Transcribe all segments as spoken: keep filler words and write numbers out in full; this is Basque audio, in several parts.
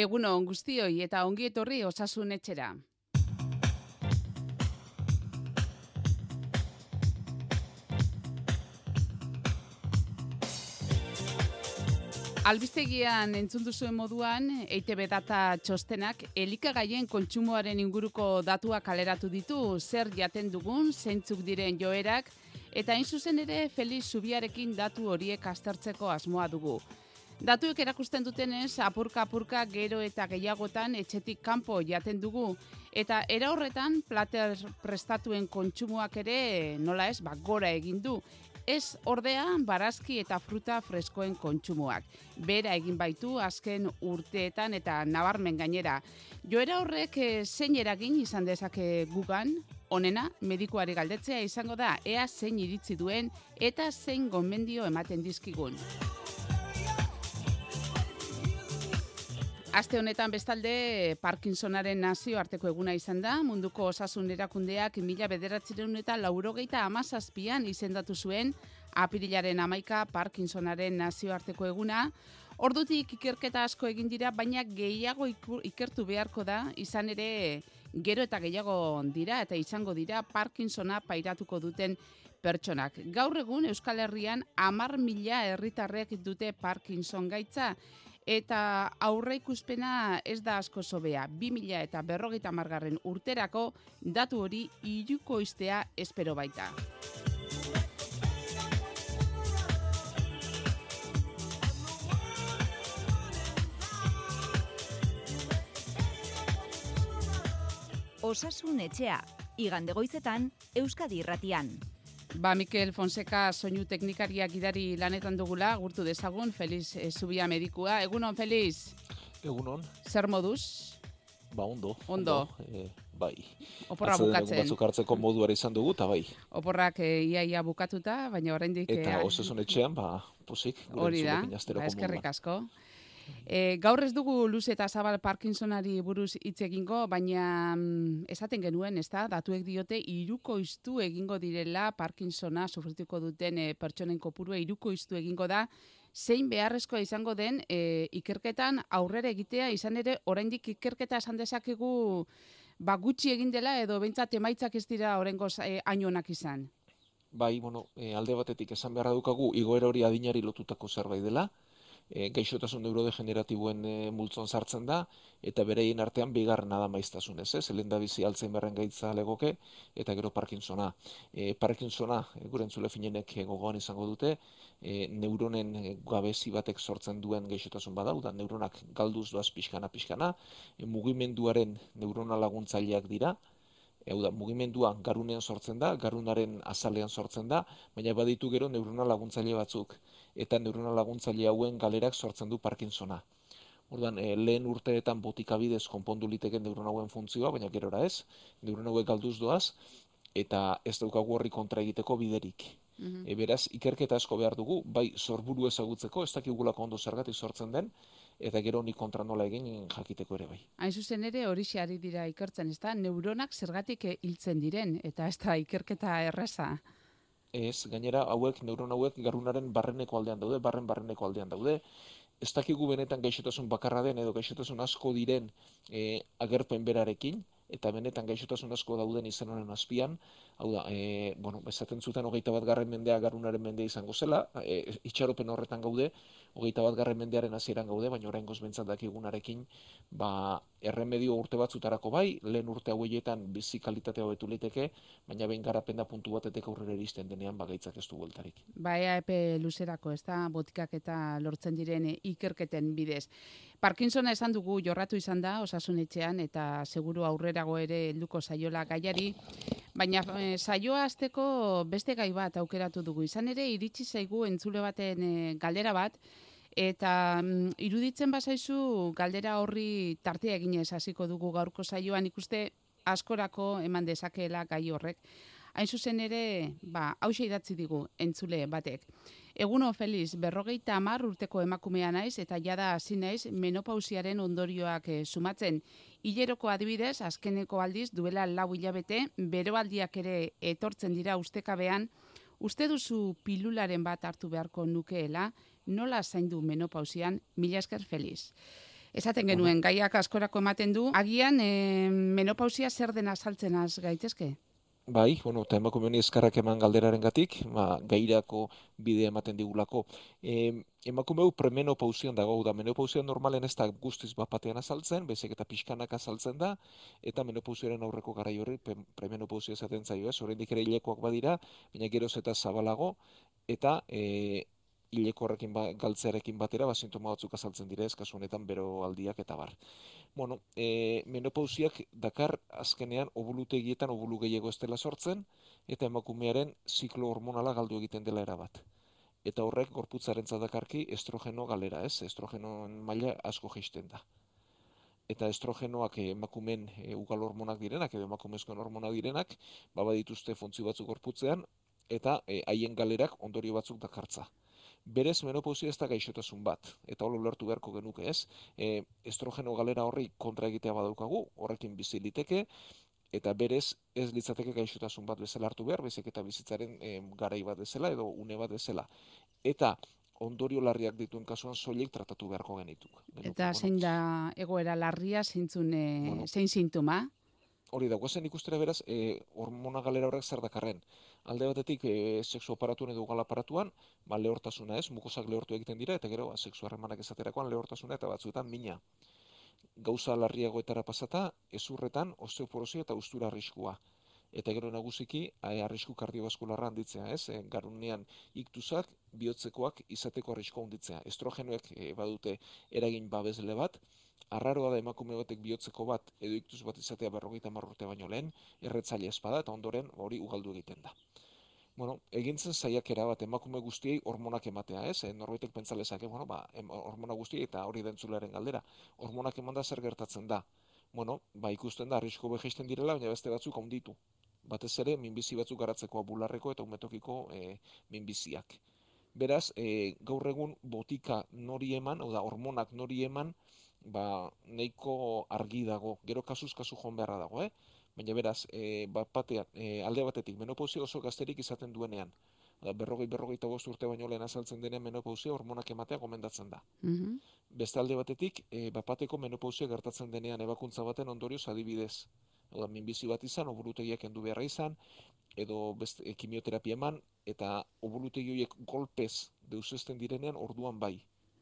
Egunon guztioi eta ongi etorri Osasun Etxera. Albistegian entzun duzuen moduan, E I Te Be data txostenak elikagaien kontsumoaren inguruko datuak kaleratu ditu, zer jaten dugun, zeintzuk diren joerak, eta hain zuzen ere Felix Zubiarekin datu horiek aztertzeko asmoa dugu. Datuek erakusten dutenez, apurka-apurka gero eta gehiagotan etxetik kanpo jaten dugu, eta era horretan plater prestatuen kontsumoak ere nola ez, ba, gora egin du. Ez ordea barazki eta fruta freskoen kontsumoak. Bera egin baitu azken urteetan eta nabarmen gainera. Joera horrek zein eragin izan dezake gugan, onena medikuari galdetzea izango da ea zein iritzi duen eta zein gomendio ematen dizkigun. Aste honetan bestalde Parkinsonaren nazioarteko eguna izan da, munduko osasun erakundeak mila bederatziehun eta laurogeita hamazazpian izendatu zuen apirilaren hamaika Parkinsonaren nazioarteko eguna. Ordutik ikerketa asko egin dira, baina gehiago ikertu beharko da, izan ere gero eta gehiago dira eta izango dira Parkinsona pairatuko duten pertsonak. Gaur egun Euskal Herrian hamar mila herritarrek dute Parkinson gaitza, eta aurreikuspena ez da asko sobea. bi mila eta berrogeita hamargarren urterako datu hori hirukoiztea espero baita. Osasun Etxea, igande goizetan, Euskadi Irratian. Ba, Mikel Fonseca soinu teknikariak gidari lanetan dugula, gurtu dezagun, Felix Zubia medikua. Egunon, Felix? Egunon. Zer moduz? Ba, ondo. Ondo. E, bai. Oporra bukatzen. Batzuk hartzeko moduara izan dugu, eta bai. Oporrak e, iaia bukatuta, baina oraindik... Eta e, Osasun Etxean, ba, posik. Hori da, ba, eskerrik asko. E, gaur ez dugu luze eta zabal Parkinsonari buruz hitz egingo, baina mm, esaten genuen, ez da, datuek diote hirukoiztu egingo direla Parkinsona sufrituko duten e, pertsonen kopurua hirukoiztu egingo da, zein beharrezkoa izango den e, ikerketan aurrera egitea, izan ere oraindik ikerketa esan dezakegu ba, gutxi egin dela edo behintzat emaitzak ez dira oraingoz e, hain onak izan. Bai, bueno, e, alde batetik esan beharra dukagu igoera hori adinari lotutako zerbait dela. E, gaixotasun neurodegeneratiboen e, multzon sartzen da, eta bereien artean bigarrena da maiztasunez, ez? Lehen da bizi Alzheimerren gaitza legoke, eta gero Parkinsona. E, Parkinsona, e, gure entzule finenek e, gogoan izango dute, e, neuronen e, gabezi batek sortzen duen gaixotasun badau, da neuronak galduz doaz pixkana-pixkana, e, mugimenduaren neurona laguntzaileak dira, Hau da, mugimendua garunean sortzen da, garunaren azalean sortzen da, baina baditu gero neurona laguntzaile batzuk. Eta neurona laguntzaile hauen galerak sortzen du Parkinsona. Orduan, e, lehen urteetan botikabidez konpondu liteken neurona hauen funtzioa, baina gerora ez, neurona hauek galduz doaz, eta ez daukagu horri kontra egiteko biderik. Mm-hmm. E, beraz, ikerketa asko behar dugu, bai sorburu ezagutzeko, ez dakigulako ondo zergatik sortzen den, eta gero honi kontra nola egin jakiteko ere bai. Hain zuzen ere hori ari dira ikertzen, ez da? Neuronak zergatik hiltzen diren, eta ez da ikerketa erraza? Ez, gainera hauek, neuron hauek garunaren barreneko aldean daude, barren barreneko aldean daude, ez dakigu benetan gaixotasun bakarra den edo gaixotasun asko diren e, agerpen berarekin, eta benetan gaixotasun asko dauden izen honen azpian, hau da, e, bueno, esaten zuten hogeita bat garren mendea garunaren mendea izango zela, e, itxaropen horretan gaude, hogeita bat garren mendearen hasieran gaude, baina oraingoz behintzat dakigunarekin, ba, erremedio urte batzutarako bai, lehen urte hauetan bizi kalitatea hobetu liteke, baina behin garapenda puntu batetek aurrera iristen denean bagaitzak ez du bueltarik. Ba, ea epe luzerako, ez da, botikak eta lortzen diren ikerketen bidez. Parkinsona esan dugu jorratu izan da Osasun Etxean eta seguru aurrerago ere helduko saiola gaiari, baina e, saioa hasteko beste gai bat aukeratu dugu. Izan ere iritsi zaigu entzule baten e, galdera bat, eta mm, iruditzen bazaizu galdera horri tartea eginez hasiko dugu gaurko saioan, ikuste askorako eman dezakeela gai horrek. Hain zuzen ere, ba, hauxe idatzi digu entzule batek. Eguno, Felix, berrogeita hamar urteko emakumea naiz eta jada hasi naiz menopausiaren ondorioak e, sumatzen. Hileroko adibidez, azkeneko aldiz duela lau hilabete, beroaldiak ere etortzen dira ustekabean. Uste duzu pilularen bat hartu beharko nukeela, nola zaindu menopausian? Mila esker, Felix. Esaten genuen, gaiak askorako ematen du. Agian, e, menopausia zer dena saltzen az gaitezke? Bai, bueno, eta emakume honi eskarrak eman galderarengatik, ba, gairako bidea ematen digulako. E, emakume hau premenopausian dago, da menopausian normalen ez da guztiz bat batean azaltzen, bezik eta pixkanak azaltzen da, eta menopausiaren aurreko garai horri premenopausia esaten zaio, ez? Oraindik ere hilekoak badira, baina geroz eta zabalago, eta e, hileko horrekin ba, galtzearekin batera, ba, sintoma batzuk azaltzen dira, ez kasu honetan beroaldiak eta bar. Bueno, e, menopausiak dakar azkenean obulutegietan obulu gehiago ez dela sortzen, eta emakumearen ziklo hormonala galdu egiten dela erabat. Eta horrek gorputzaren dakarki estrogeno galera, ez? Estrogenoen maila asko jaisten da. Eta estrogenoak emakumeen e, ugal hormonak direnak, edo emakumezkoen hormonak direnak, baba dituzte funtzio batzuk gorputzean, eta haien e, galerak ondorio batzuk dakartza. Berez menopausia ez da gaixotasun bat, eta hori ulertu beharko genuke ez. E, estrogeno galera horri kontra egitea badaukagu, horrekin bizi liteke, eta berez ez litzateke gaixotasun bat bezala hartu behar, bezik eta bizitzaren e, garai bat bezala edo une bat bezala. Eta ondorio larriak dituen kasuan soilik tratatu beharko genituk. Eta zein da egoera larria, zeintzun, e, bueno, zein sintoma? Hori da, guazen ikustera beraz, e, hormona galera horrek zer dakarren. Alde batetik, e, sexu aparatuan edo ugal aparatuan, ba, lehortasuna ez, mukosak lehortu egiten dira, eta gero, ba, sexu harremanak ezaterakoan lehortasuna eta batzuetan mina. Gauza larriagoetara pasata, ezurretan, osteoporosia eta ustura arriskua. Eta gero nagusiki, arrisku kardiobaskularra handitzea, ez? E, garunean iktusak, bihotzekoak izateko arriskua handitzea. Estrogenoek e, badute eragin babesle bat, arraroa da emakume batek bihotzeko bat edo iktuz bat izatea berrogeita hamar urte baino lehen, erretzaile espada eta ondoren hori ugaldu egiten da. Bueno, egintzen saiakera bat emakume guztiei hormonak ematea, ez? E, norbaitek pentsa lezake, bueno, ba, hormona guztiei eta hori dentzularen galdera. Hormonak emanda zer gertatzen da? Bueno, ba, ikusten da arrisku beheisten direla, baina beste batzuk handitu. Batez ere, minbizi batzuk garatzeko bularreko eta umetokiko e, minbiziak. Beraz, e, gaur egun botika nori eman, oda hormonak nori eman, ba, nahiko argi dago, gero kasuz kasu joan beharra dago, eh? Baina beraz, e, bat batean, e, alde batetik, menopausia oso gazterik izaten duenean, da, berrogei, berrogeita bost urte baino lehen azaltzen denean menopausia hormonak ematea gomendatzen da. Mm-hmm. Beste alde batetik, e, bat bateko menopausia gertatzen denean ebakuntza baten ondorioz adibidez. Oda, minbizi bat izan, obulutegiak endu beharra izan, edo beste, e, kimioterapia eman, eta obulutegi horiek golpez deusesten direnean orduan bai.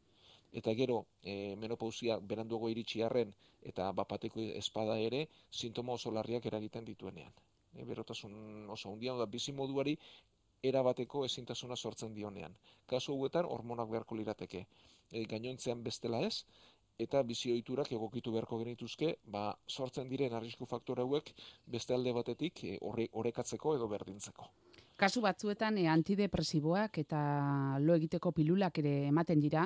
Eta gero, e, menopausia beranduago iritsi arren eta bapateko espada ere, sintoma oso larriak eragiten dituenean. E, berotasun oso handia da bizi moduari erabateko ezintasuna sortzen dionean. Kasu hauetan hormonak beharko lirateke. E, gainontzean bestela ez, eta bizi ohiturak egokitu beharko genituzke, ba, sortzen diren arrisku faktore hauek beste alde batetik e, orekatzeko edo berdintzeko. Kasu batzuetan e, antidepresiboak eta lo egiteko pilulak ere ematen dira.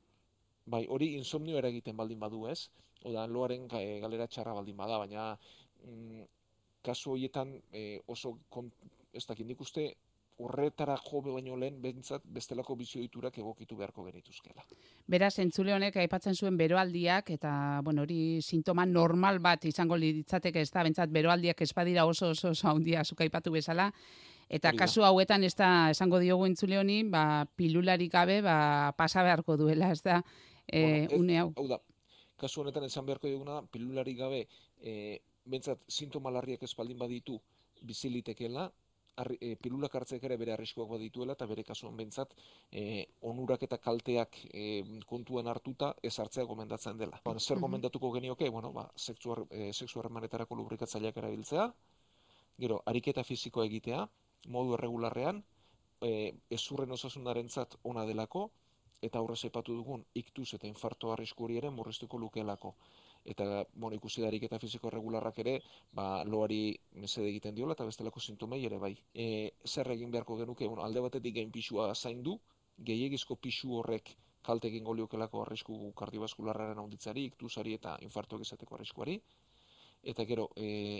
Bai, hori insomnio eragiten baldin badu ez, oda loaren galera txarra baldin bada, baina mm, kasu horietan e, oso, kon, ez dakit nik uste, horretara jo baino lehen bentsat bestelako bizi ohiturak egokitu beharko genituzkela. Beraz, entzule honek aipatzen zuen beroaldiak, eta bueno, hori sintoma normal bat izango litzateke, ez da, bentsat beroaldiak ez badira oso oso oso handia zuk aipatu bezala, eta kasu hauetan ez da esango diogu entzule honi, ba, pilularik gabe ba, pasa beharko duela, ez da, E, bueno, ez, une hau. Hau da, kasu honetan esan beharko duguna, pilulari gabe, e, bentsat sintoma larriak espaldin baditu bizilitekeela, e, pilulak hartzek ere bere arriskuak badituela, eta bere kasuan bentsat e, onurak eta kalteak e, kontuan hartuta ez hartzea gomendatzen dela. Ba, zer gomendatuko genioke? Bueno, ba, sexu harremanetarako e, lubrikatzaileak erabiltzea, gero, ariketa fisikoa egitea, modu erregularrean, e, ezurren osasunarentzat ona delako, eta aurrez aipatu dugun iktuz eta infarto arrisku hori ere murriztuko lukeelako. Eta, bueno, ikusi da ariketa fisiko regularrak ere, ba, loari mesede egiten diola eta bestelako sintomei ere bai. E, zer egin beharko genuke, bueno, alde batetik gain pisua zaindu, gehiegizko pisu horrek kalte egingo liokelako arrisku kardiobaskularraren handitzari, iktuzari eta infartoak izateko arriskuari. Eta gero, e,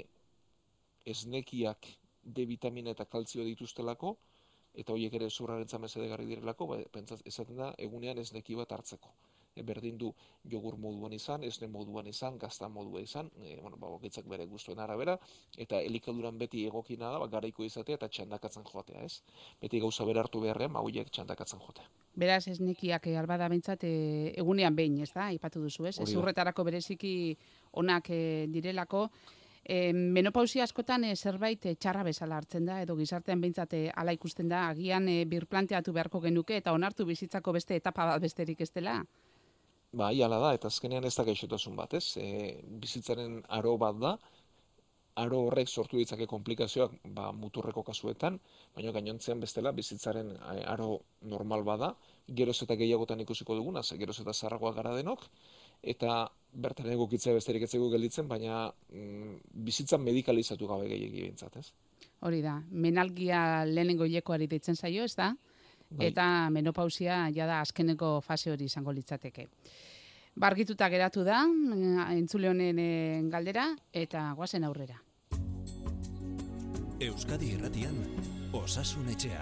esnekiak D vitamina eta kaltzio dituztelako, eta horiek ere zurraren mesedegarri direlako, ba, pentsat, esaten da, egunean esneki bat hartzeko. E, berdin du jogur moduan izan, esne moduan izan, gazta modua izan, e, bueno, ba, bakoitzak bere gustuen arabera, eta elikaduran beti egokina da, ba, garaiko izatea eta txandakatzen joatea, ez? Beti gauza bera hartu beharrean, ba, horiek txandakatzen joatea. Beraz, esnekiak albada behintzat e, egunean behin, ez da, aipatu duzu, ez? Ez urretarako bereziki onak e, direlako. E, menopausia askotan e, zerbait e, txarra bezala hartzen da, edo gizartean behintzat e, ala ikusten da, agian e, birplanteatu beharko genuke, eta onartu bizitzako beste etapa bat besterik ez dela? Ba, iala da, eta azkenean ez da gaixotasun bat, ez? E, bizitzaren aro bat da, aro horrek sortu ditzake komplikazioak ba, muturreko kasuetan, baina gainontzean bestela bizitzaren aro normal bada, geroz eta gehiagotan ikusiko duguna, ze geroz eta zarragoa gara denok, eta bertan egokitzea besterik etzeko gelditzen, baina mm, bizitza medikalizatu gabe gehiagi bintzat, ez? Hori da, menalgia lehenengo hilekoari deitzen zaio, ez da? Bai. Eta menopausia jada azkeneko fase hori izango litzateke. Bargituta geratu da, entzule honen galdera, eta guazen aurrera. Euskadi Irratian, Osasun Etxea.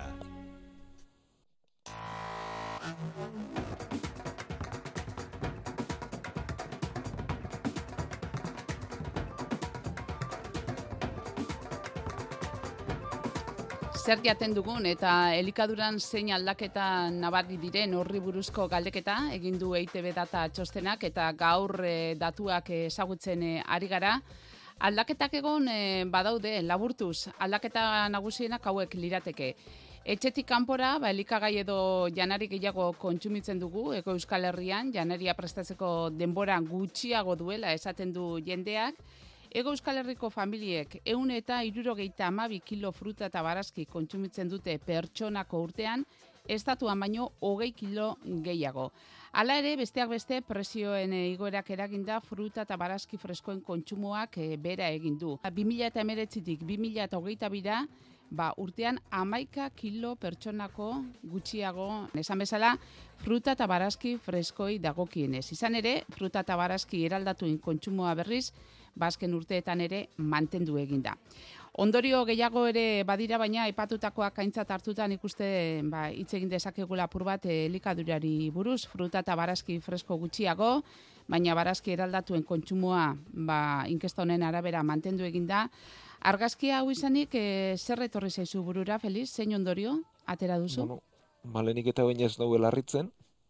Zer jaten dugun eta elikaduran zein aldaketa nabari diren horri buruzko galdeketa egin du E I Te Be data txostenak eta gaur e, datuak ezagutzen e, ari gara. Aldaketak egon e, badaude, laburtuz, aldaketa nagusienak hauek lirateke. Etxetik kanpora, ba, elikagai edo janari gehiago kontsumitzen dugu, Hego Euskal Herrian, janaria prestatzeko denbora gutxiago duela esaten du jendeak. Hego Euskal Herriko familiek ehun eta hirurogeita hamabi kilo fruta eta barazki kontsumitzen dute pertsonako urtean, estatuan baino hogei kilo gehiago. Hala ere, besteak beste, prezioen igoerak eraginda fruta eta barazki freskoen kontsumoak e, bera egin du. bi mila hemeretzitik bi mila hogeita bira, ba, urtean hamaika kilo pertsonako gutxiago, esan bezala, fruta eta barazki freskoi dagokienez. Izan ere, fruta eta barazki eraldatuen kontsumoa berriz, bazken urteetan ere mantendu eginda. Ondorio gehiago ere badira, baina aipatutakoak aintzat hartutan ikuste ba, hitz egin dezakegula apur bat elikadurari buruz, fruta eta barazki fresko gutxiago, baina barazki eraldatuen kontsumoa ba, inkesta honen arabera mantendu eginda. Argazkia hau izanik, e, zer etorri zaizu burura, Feliz, zein ondorio atera duzu? Bueno, malenik eta baina ez nahuela harritzen,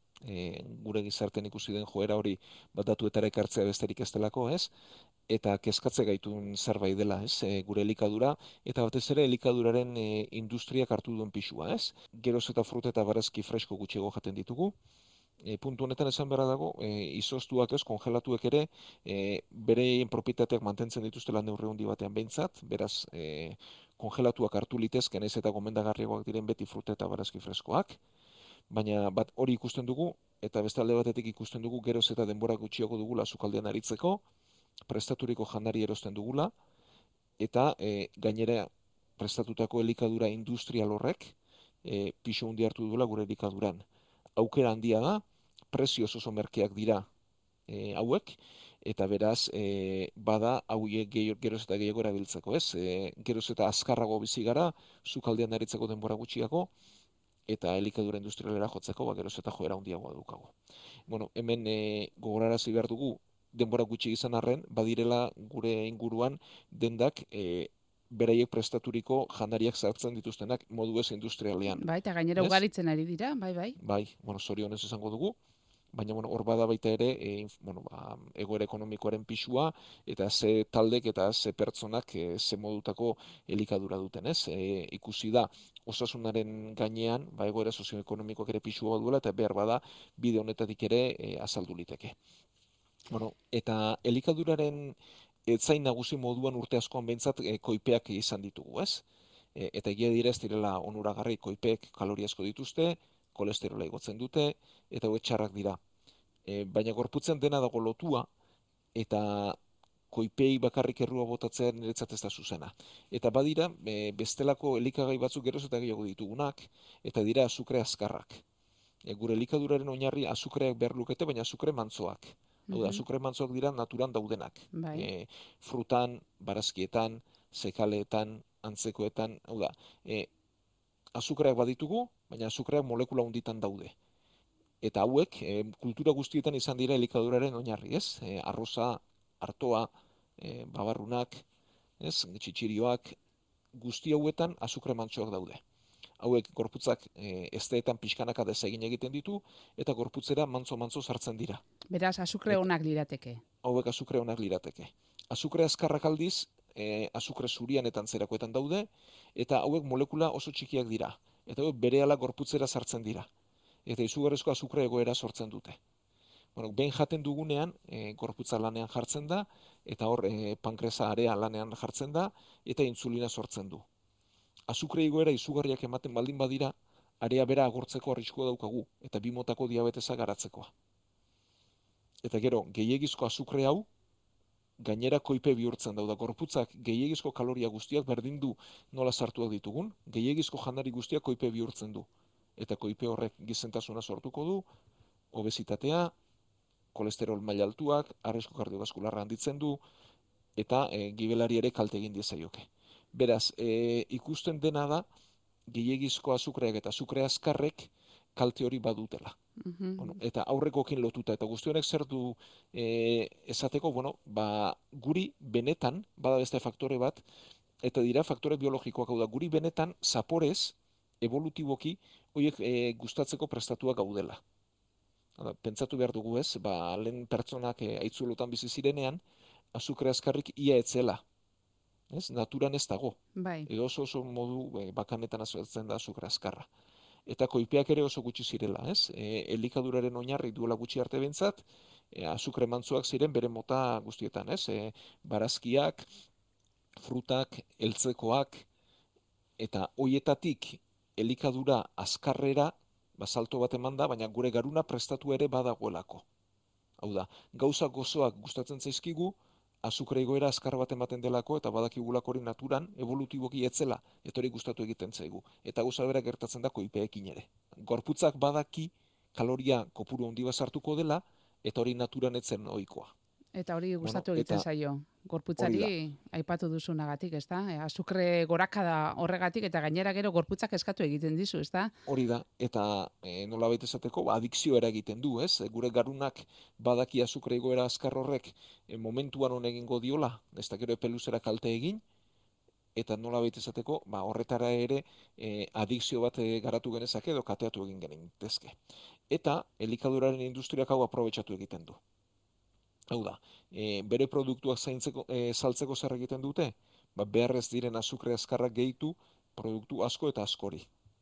e, gure gizarten ikusi den joera hori bat datuetara ekartzea besterik ez delako, ez? Eta kezkatze gaitun zerbait dela, ez? E, gure elikadura, eta batez ere elikaduraren e, industriak hartu duen pisua, ez? Geroz eta fruta eta barazki fresko gutxiago jaten ditugu. E, puntu honetan esan beharra dago, e, izoztuak ez, kongelatuek ere, e, bereien propietateak mantentzen dituztela neurri handi batean behintzat, beraz, e, kongelatuak hartu litezken ez eta gomendagarriagoak diren beti fruta eta barazki freskoak, baina bat hori ikusten dugu, eta beste alde batetik ikusten dugu geroz eta denbora gutxiago dugula sukaldean aritzeko, prestaturiko janari erosten dugula, eta e, gainera prestatutako elikadura industrial horrek e, pisu handi hartu dugula gure elikaduran. Aukera handia da, prezioz oso merkeak dira e, hauek, eta beraz, e, bada hauek geroz eta gehiago erabiltzeko, ez? E, geroz eta azkarrago bizi gara, sukaldean aritzeko denbora gutxiago, eta elikadura industrialera jotzeko, ba, geroz eta joera handiagoa dukago. Bueno, hemen e, gogorarazi behar dugu, denbora gutxi izan arren, badirela gure inguruan dendak e, beraiek prestaturiko jandariak zartzen dituztenak modu ez industrialean. Bai, eta gainera Ez? ugaritzen ari dira, bai, bai. Bai, bueno, zorionez esango dugu, baina bueno, hor bada baita ere e, bueno, ba, egoera ekonomikoaren pisua eta ze taldek eta ze pertsonak e, ze modutako elikadura duten, ez? E, ikusi da osasunaren gainean, ba, egoera sozioekonomikoak ere pisua duela eta behar bada bide honetatik ere e, azaldu liteke. Bueno, eta elikaduraren etzain nagusi moduan urte askoan behintzat e, koipeak izan ditugu, ez? E, eta egia dira ez direla onuragarri, koipeek kalori asko dituzte, kolesterola igotzen dute, eta hauek txarrak dira. E, baina gorputzen dena dago lotua, eta koipei bakarrik errua botatzea niretzat ez da zuzena. Eta badira, e, bestelako elikagai batzuk geroz eta gehiago ditugunak, eta dira azukre azkarrak. E, gure elikaduraren oinarri azukreak behar lukete, baina azukre mantzoak. Hau da, azukre mantzoak dira naturan daudenak. Bai. E, frutan, barazkietan, zekaleetan, antzekoetan, hau da, e, azukreak baditugu, baina azukreak molekula hunditan daude. eta hauek e, kultura guztietan izan dira elikaduraren oinarri, ez? E, arroza, artoa, e, babarrunak, ez? Txitxirioak, guzti hauetan azukre mantsoak daude. Hauek gorputzak e, ezteetan pixkanaka desegin egiten ditu, eta gorputzera mantzo-mantzo sartzen dira. Beraz, azukre onak lirateke. Hauek azukre onak lirateke. Azukre azkarrak aldiz, e, azukre zurian eta antzerakoetan daude, eta hauek molekula oso txikiak dira. Eta hauek berehala gorputzera sartzen dira. Eta izugarrizko azukre egoera sortzen dute. Bueno, behin jaten dugunean, e, gorputza lanean jartzen da, eta hor e, pankresa area lanean jartzen da, eta insulina sortzen du. Azukre igoera izugarriak ematen baldin badira, area bera agortzeko arriskua daukagu, eta bi motako diabetesa garatzekoa. Eta gero, gehiegizko azukre hau, gainera koipe bihurtzen dauda. Gorputzak gehiegizko kaloria guztiak berdin du nola sartuak ditugun, gehiegizko janari guztiak koipe bihurtzen du. Eta koipe horrek gizentasuna sortuko du, obesitatea, kolesterol maila altuak, arrisku kardiobaskularra handitzen du, eta e, gibelari ere kalte egin diezaioke. Beraz, e, ikusten dena da, gehiegizko azukreak eta azukre azkarrek kalte hori badutela. Mhm. Bueno, eta aurrekoekin lotuta, eta guzti honek zer du e, esateko, bueno, ba, guri benetan, bada beste faktore bat, eta dira faktore biologikoak, hau da, guri benetan zaporez, evolutiboki, horiek e, gustatzeko prestatuak gaudela. Hala, pentsatu behar dugu ez, ba, lehen pertsonak e, aitzulotan bizi zirenean, azukre azkarrik ia etzela. Ez? Naturan ez dago. Bai. Edo oso oso modu e, bakanetan azaltzen da azukre azkarra. Eta koipeak ere oso gutxi zirela, ez? E, elikaduraren oinarri duela gutxi arte bentzat, e, azukre mantzuak ziren bere mota guztietan, ez? E, barazkiak, frutak, eltzekoak, eta hoietatik elikadura azkarrera, ba, salto bat eman da, baina gure garuna prestatu ere badagoelako. Hau da, gauza gozoak gustatzen zaizkigu, azukre igoera azkar bat ematen delako, eta badakigulako hori naturan, evolutiboki etzela, eta hori gustatu egiten zaigu. Eta gauza bera gertatzen da koipeekin ere. Gorputzak badaki kaloria kopuru handi bat sartuko dela, eta hori naturan etzen ohikoa. Eta hori gustatu Bueno, egiten eta zaio. Gorputzari hori aipatu duzunagatik, ezta? E, azukre gorakada horregatik eta gainera gero gorputzak eskatu egiten dizu, ezta? Hori da, eta e, nolabait esateko, ba, adikzio eragiten du, ez? E, Gure garunak badaki azukre igoera azkar horrek e, momentuan hon egingo diola, ez da gero epe luzera kalte egin, eta nolabait esateko, ba, horretara ere e, adikzio bat e, garatu genezake edo kateatu egin genitezke. Eta elikaduraren industriak hau aprobetxatu egiten du. Hau da, e, bere produktuak zaintzeko, e, saltzeko zer egiten dute? Ba, beharrez diren azukre azkarrak gehitu produktu asko eta askori.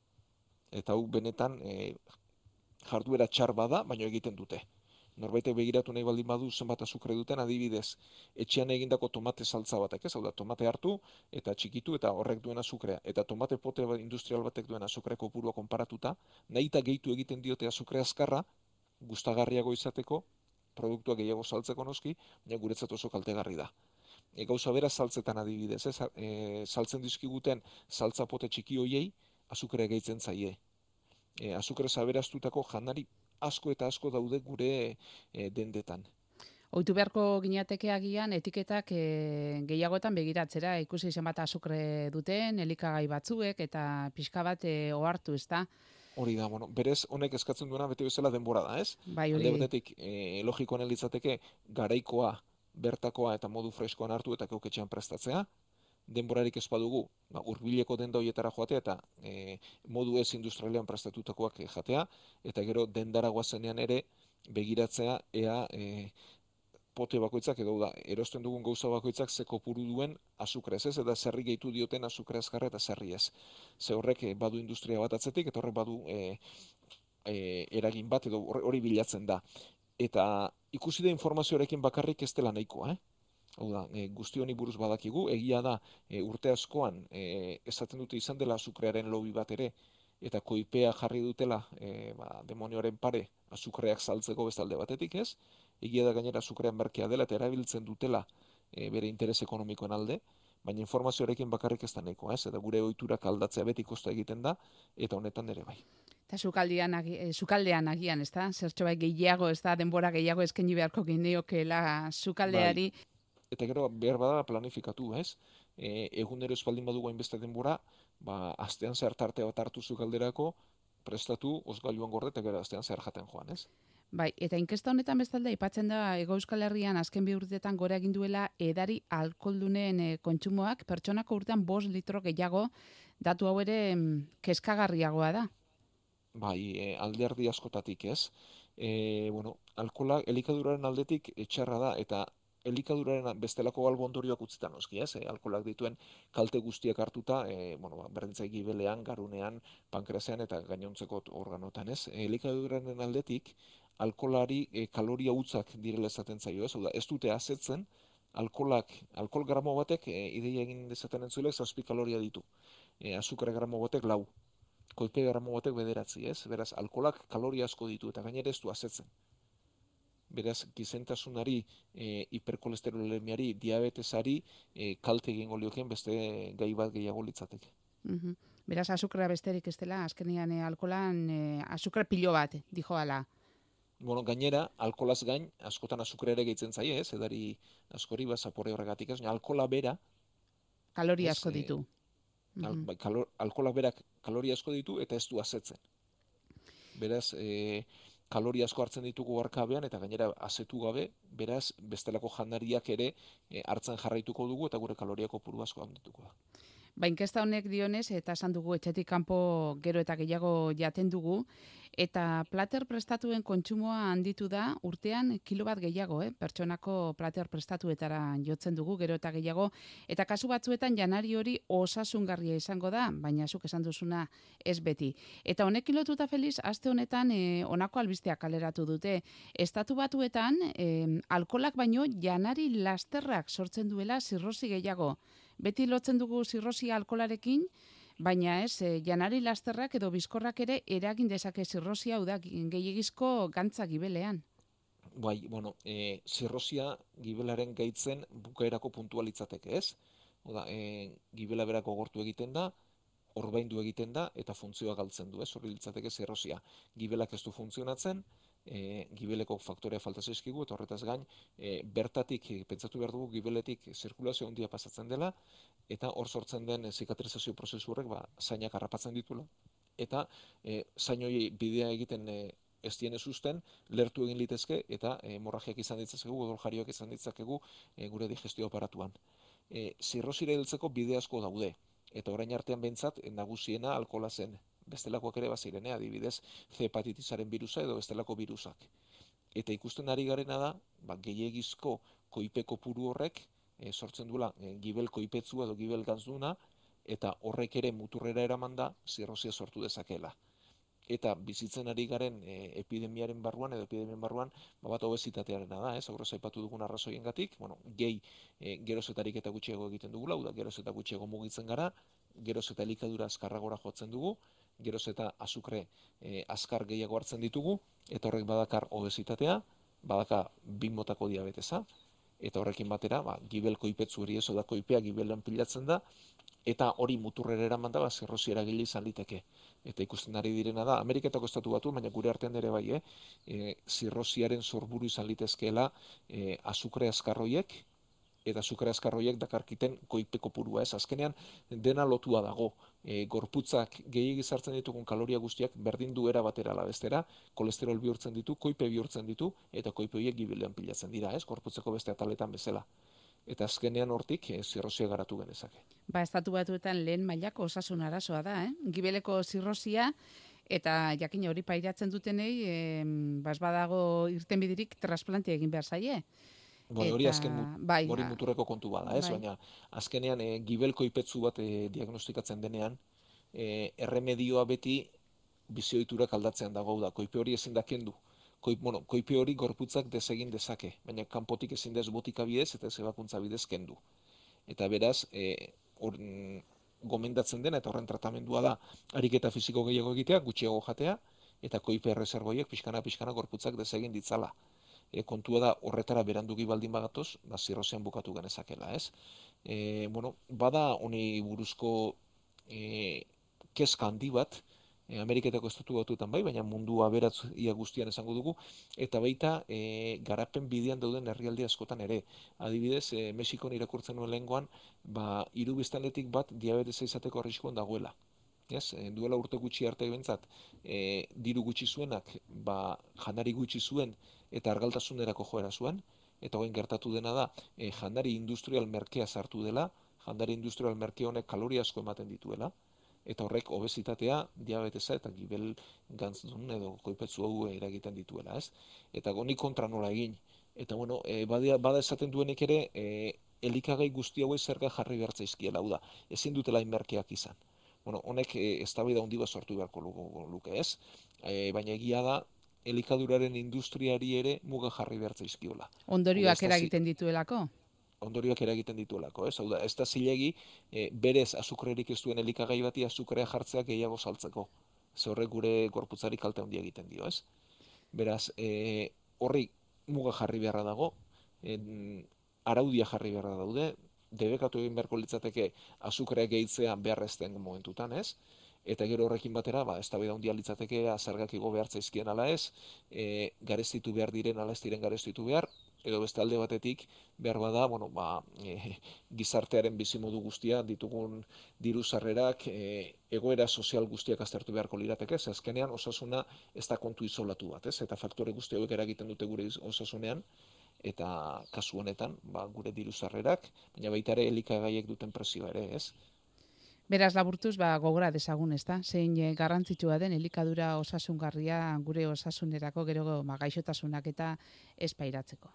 Eta hau benetan e, jarduera txar bada, baina egiten dute. Norbaitek begiratu nahi baldin badu zenbat azukre duten, adibidez, etxean egindako tomate saltza batek, ez? Hau da, tomate hartu eta txikitu eta horrek duen azukrea. Eta tomate pote industrial batek duen azukre kopurua konparatuta, nahi eta gehitu egiten diote azukre azkarra, gustagarriago izateko, produktua gehiago saltzeko noski, baina guretzat oso kaltegarri da. E, gauza bera saltzetan adibidez, ez? E, saltzen dizkiguten saltza pote txiki hoiei, azukrea gehitzen zaie. E, azukre aberastutako janari asko eta asko daude gure e, dendetan. Ohitu beharko ginateke agian etiketak e, gehiagoetan begiratzera, ikusi zenbat azukre duten, elikagai batzuek eta pixka bat e, ohartu, ezta? Hori da, bueno, berez honek eskatzen duena bete bezala denbora da, ez? Bai, Alde hori. batetik, e, logikoan litzateke garaikoa, bertakoa eta modu freskoan hartu eta keuketxean prestatzea. Denborarik ez badugu, ba, hurbileko denda horietara joatea eta e, modu ez industrialean prestatutakoak e, jatea, eta gero dendara goazenean ere begiratzea ea e, pote bakoitzak edo da, erosten dugun gauza bakoitzak ze kopuru duen azukrez, ez? Eta zerri gehitu dioten azukre azkarra eta zerri ez. Ze horrek e, badu industria bat atzetik, eta horrek badu e, e, eragin bat edo hori bilatzen da. Eta ikusi da informazioarekin bakarrik ez dela nahikoa, eh? Hau da, e, guzti honi buruz badakigu, egia da e, urte askoan e, esaten dute izan dela azukrearen lobi bat ere, eta koipea jarri dutela e, ba, demonioaren pare azukreak saltzeko bestalde batetik, ez? Egia da gainera azukrean merkea dela eta erabiltzen dutela e, bere interes ekonomikoen alde, baina informazioarekin bakarrik ez da nahikoa, ez? Eta gure ohiturak aldatzea beti kosta egiten da, eta honetan ere bai. Eta sukaldean, agi, eh, sukaldean agian, ezta? Zertxo bai gehiago, ezta? Denbora gehiago eskaini beharko gineokela sukaldeari. Bai. Eta gero behar bada planifikatu, ez? E, egunero espaldin badugu hainbeste denbora, ba, astean zer tarte bat hartu sukalderako, prestatu, osgailuan gorde eta gero astean zer jaten joan, ez? Bai, eta inkesta honetan bestalde aipatzen da Hego Euskal Herrian azken bi urteetan gora egin duela edari alkoholdunen e, kontsumoak pertsonako urtean bost litro gehiago, datu hau ere mm, kezkagarriagoa da. Bai, e, alderdi askotatik, ez? E, bueno, alkohola elikaduraren aldetik etxarra da, eta elikaduraren bestelako albo ondorioak utzita noski, ez? E, alkoholak dituen kalte guztiak hartuta, e, bueno, ba, berdintzai gibelean, garunean, pankreasean eta gainontzeko organotan, ez? E, elikaduraren aldetik alkoholari e, kaloria hutzak direla esaten zaio, ez? Hau da, ez dute asetzen, alkoholak, alkohol gramo batek, e, ideia egin dezaten entzuilek, zazpi kaloria ditu. E, azukre gramo batek lau. Koipe gramo batek bederatzi, ez? Beraz, alkoholak kaloria asko ditu eta gainera ez du asetzen. Beraz, gizentasunari, e, hiperkolesterolemiari, diabetesari, e, kalte egingo lioken beste gai bat gehiago litzateke. Mhm. Beraz, azukrea besterik ez dela, azkenean e, alkoholan e, azukre pilo bat, dijoala. Bueno, gainera, alkolaz gain, askotan azukre ere gehitzen zaie, ez? Edari askori, ba, zapore horregatik, ez? Alkola bera, Kaloria ez, asko e, ditu. al, Mhm. bai, kalor, alkolak berak kaloria asko ditu eta ez du asetzen. Beraz, e, kaloria asko hartzen ditugu arkabean eta gainera asetu gabe, beraz, bestelako jandariak ere e, hartzen jarraituko dugu eta gure kaloria kopuru asko handituko da. Ba, inkesta honek dionez, eta esan dugu etxetik kanpo gero eta gehiago jaten dugu, eta plater prestatuen kontsumoa handitu da urtean kilo bat gehiago, eh? Pertsonako plater prestatuetara jotzen dugu gero eta gehiago, eta kasu batzuetan janari hori osasungarria izango da, baina zuk esan duzuna ez beti. Eta honekin lotuta Feliz, aste honetan eh, honako albisteak kaleratu dute. Estatu batuetan, eh, alkolak baino janari lasterrak sortzen duela zirrosi gehiago. Beti lotzen dugu zirrosia alkolarekin, baina ez, eh, janari lasterrak edo bizkorrak ere eragin dezake zirrosia, hau da, gehiegizko gantza gibelean. Bai, bueno, e, zirrosia gibelaren gaitzen bukaerako puntua litzateke, ez? Oda, e, gibela berako gortu egiten da, orbaindu egiten da eta funtzioa galtzen du, ez? Hori litzateke zirrosia. Gibelak ez du funtzionatzen, e, gibeleko faktorea falta zaizkigu eta horretaz gain, e, bertatik, e, pentsatu behar dugu gibeletik zirkulazio handia pasatzen dela eta hor sortzen den e, zikatrizazio prozesu horrek ba, zainak harrapatzen ditula. Eta e, zain hori bidea egiten e, ez diene susten, lertu egin litezke eta e, hemorragiak izan ditzakegu, odoljarioak izan ditzakegu e, gure digestio aparatuan. E, zirrosira heltzeko bide asko daude. Eta orain artean behintzat, nagusiena alkohola zen. Bestelakoak ere baziren, eh? Adibidez, C hepatitisaren birusa edo bestelako birusak. Eta ikusten ari garena da, ba, gehiegizko koipe kopuru horrek e, sortzen duela e, gibel koipetzua edo gibel ganzduna, eta horrek ere muturrera eraman da zirrosia sortu dezakela. Eta bizitzen ari garen e, epidemiaren barruan edo epidemiaren barruan ba, bat obesitatearena da, ez? Aurrez aipatu dugun arrazoiengatik, bueno, gehi e, geroz eta ariketa gutxiago egiten dugula, da geroz eta gutxiago mugitzen gara, geroz eta elikadura azkarragora jotzen dugu, geroz eta azukre e, azkar gehiago hartzen ditugu, eta horrek badakar obesitatea, badaka bi motako diabetesa, eta horrekin batera, ba, gibel koipetzu hori ez, da koipea gibelan pilatzen da, eta hori muturrera eraman da, ba, zirrosi eragile izan liteke. Eta ikusten ari direna da, Ameriketako estatu batu, baina gure artean ere bai, eh? E, zirrosiaren sorburu izan litezkeela e, azukre azkarroiek, eta azukre azkarroiek dakarkiten koipe kopurua, ez? Azkenean dena lotua dago. E, gorputzak gehiegi sartzen ditugun kaloria guztiak berdin du era batera ala bestera, kolesterol bihurtzen ditu, koipe bihurtzen ditu, eta koipe horiek gibelean pilatzen dira, ez? Gorputzeko beste ataletan bezala. Eta azkenean hortik e, zirrosia garatu genezake. Ba, estatu batuetan lehen mailako osasun arazoa da, eh? Gibeleko zirrosia, eta jakin hori pairatzen dutenei, eh, bas badago irtenbiderik transplantea egin behar zaie. Bai, hori Eta, azken bai, hori ba, muturreko kontu bada, ez? bai. Baina azkenean e, gibel koipetzu bat e, diagnostikatzen denean, e, erremedioa beti bizioiturak aldatzean dago da, koipe hori ezin da kendu. Koip, bueno, koipe hori gorputzak desegin dezake, baina kanpotik ezin dez botika bidez eta ez ebakuntza bidez kendu. Eta beraz, e, or, gomendatzen dena eta horren tratamendua da ariketa fisiko gehiago egitea, gutxiago jatea, eta koipe erreserboiek pixkana-pixkana gorputzak desegin ditzala. E, kontua da horretara berandugi baldin bagatoz, ba, zirrozean bukatu genezakela, ez? E, bueno, bada honi buruzko e, kezka handi bat, e, Ameriketako estatu batuetan bai, baina mundu aberatzia guztian esango dugu, eta baita e, garapen bidean dauden herrialde askotan ere. Adibidez, e, Mexikon irakurtzen nuen lehengoan, ba, hiru biztanletik bat diabetesa izateko arriskuan dagoela. Ez, e, duela urte gutxi arte bentzat, e, diru gutxi zuenak, ba, janari gutxi zuen eta argaltasunerako joera zuen, eta orain gertatu dena da, e, jandari industrial merkea sartu dela, jandari industrial merke honek kaloria asko ematen dituela, eta horrek obesitatea, diabetesa eta gibel gantzun edo koipetzu hau eragiten dituela, ez? Eta goni kontra nola egin. Eta bueno, e, bada, bada esaten duenik ere, e, elikagai guzti hauei zerga jarri behar zaizkiela, hau da, ezin dutela inmerkeak izan. Bueno, honek e, eztabaida handi bat sortu beharko luke, ez? E, baina egia da, elikaduraren industriari ere muga jarri behar zaizkiola. Ondorioak eragiten dituelako? Ondorioak eragiten dituelako, ez? Hau da, ez da zilegi, e, berez azukrerik ez duen elikagai bati azukrea jartzea gehiago saltzeko. Ze horrek gure gorputzari kalte handia egiten dio, ez? Beraz, e, horri muga jarri beharra dago, en, araudia jarri beharra daude, debekatu egin beharko litzateke azukrea gehitzea beharrezten momentutan, ez? Eta gero horrekin batera, ba, eztabaida handia litzateke zergak igo behar zaizkien ala ez, e, garestitu behar diren ala ez diren garestitu behar, edo beste alde batetik behar bada, bueno, ba, e, gizartearen bizimodu guztia ditugun diru sarrerak, e, egoera sozial guztiak aztertu beharko lirateke, ze azkenean osasuna ez da kontu isolatu bat, ez? Eta faktore guzti hauek eragiten dute gure osasunean, eta kasu honetan, ba, gure diru sarrerak, baina baita ere elikagaiek duten presioa ere, ez? Beraz laburtuz, ba, gogora dezagun, ezta? Zein e, garrantzitsua den elikadura osasungarria gure osasunerako gero ba, gaixotasunak eta espairatzeko.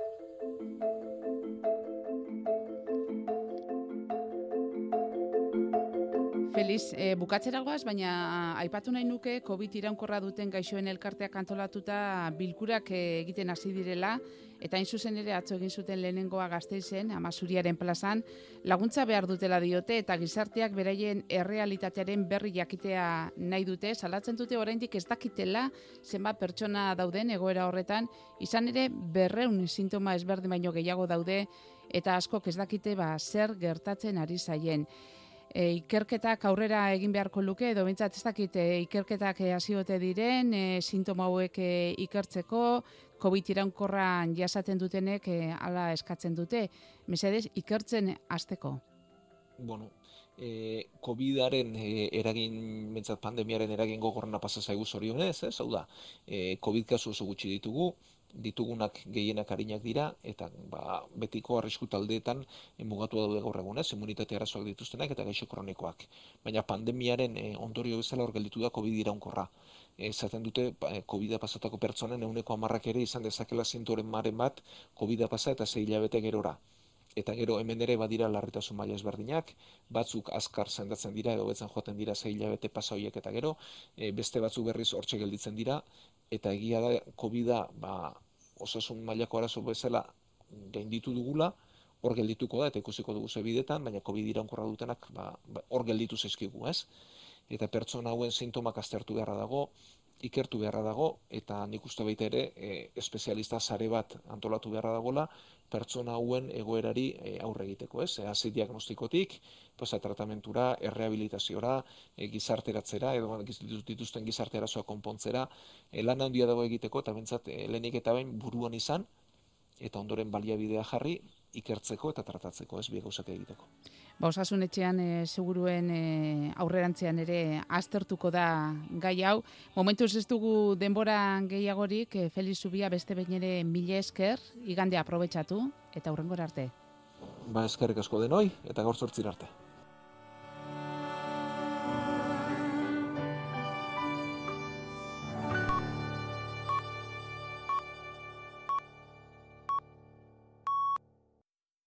Feliz, e, bukatzeragoaz, baina aipatu nahi nuke COVID iraunkorra duten gaixoen elkarteak antolatuta bilkurak e, egiten hasi direla, eta hain zuzen ere atzo egin zuten lehenengoa Gasteizen, Amazuriaren plazan, laguntza behar dutela diote eta gizarteak beraien errealitatearen berri jakitea nahi dute, salatzen dute oraindik ez dakitela zenbat pertsona dauden egoera horretan, izan ere berreun sintoma ezberdin baino gehiago daude eta askok ez dakite ba, zer gertatzen ari zaien. E, ikerketak aurrera egin beharko luke, edo bintzat ez dakit e, ikerketak hasiote diren, e, sintoma hauek e, ikertzeko, COVID iraunkorran jasaten dutenek e, ala eskatzen dute. Mesedez, ikertzen hasteko. Bueno, e, COVIDaren e, eragin, bintzat pandemiaren eragin gogorrena pasa zaigu zorionez, ez? Hau da, e, COVID kasu oso gutxi ditugu, ditugunak gehienak arinak dira, eta ba, betiko arrisku taldeetan mugatu daude gaur egun, ez, immunitate arazoak dituztenak eta gaixo kronikoak. Baina pandemiaren e, ondorio bezala hor gelditu da COVID iraunkorra. Esaten dute COVID-a pasatako pertsonen ehuneko hamarrak ere izan dezakela zintoren maren bat COVID-a pasa eta sei hilabete gerora. Eta gero hemen ere badira larritasun maila ezberdinak, batzuk azkar sendatzen dira edo betzen joaten dira sei hilabete pasa horiek eta gero, e, beste batzuk berriz hortxe gelditzen dira, eta egia da COVID-a ba, osasun mailako arazo bezala gainditu dugula, hor geldituko da eta ikusiko dugu ze bidetan, baina COVID iraunkorra dutenak ba, ba, hor gelditu zaizkigu, ez? Eta pertsona hauen sintomak aztertu beharra dago, ikertu beharra dago, eta nik uste baita ere e, espezialista sare bat antolatu beharra dagola, pertsona hauen egoerari e, aurre egiteko, ez? E, hasi diagnostikotik, pues, tratamentura, errehabilitaziora, e, gizarteratzera, edo dituzten gizarte arazoak konpontzera, e, lan handia dago egiteko, eta bentsat e, lehenik eta behin buruan izan, eta ondoren baliabidea jarri, ikertzeko eta tratatzeko, ez, bi gauzak egiteko. Ba, Osasun Etxean e, seguruen e, aurrerantzean ere aztertuko da gai hau. Momentuz ez dugu denbora gehiagorik, e, Felix Zubia beste behin ere mila esker, igande aprobetxatu eta hurrengora arte. Ba, eskerrik asko denoi eta gaur zortzir arte.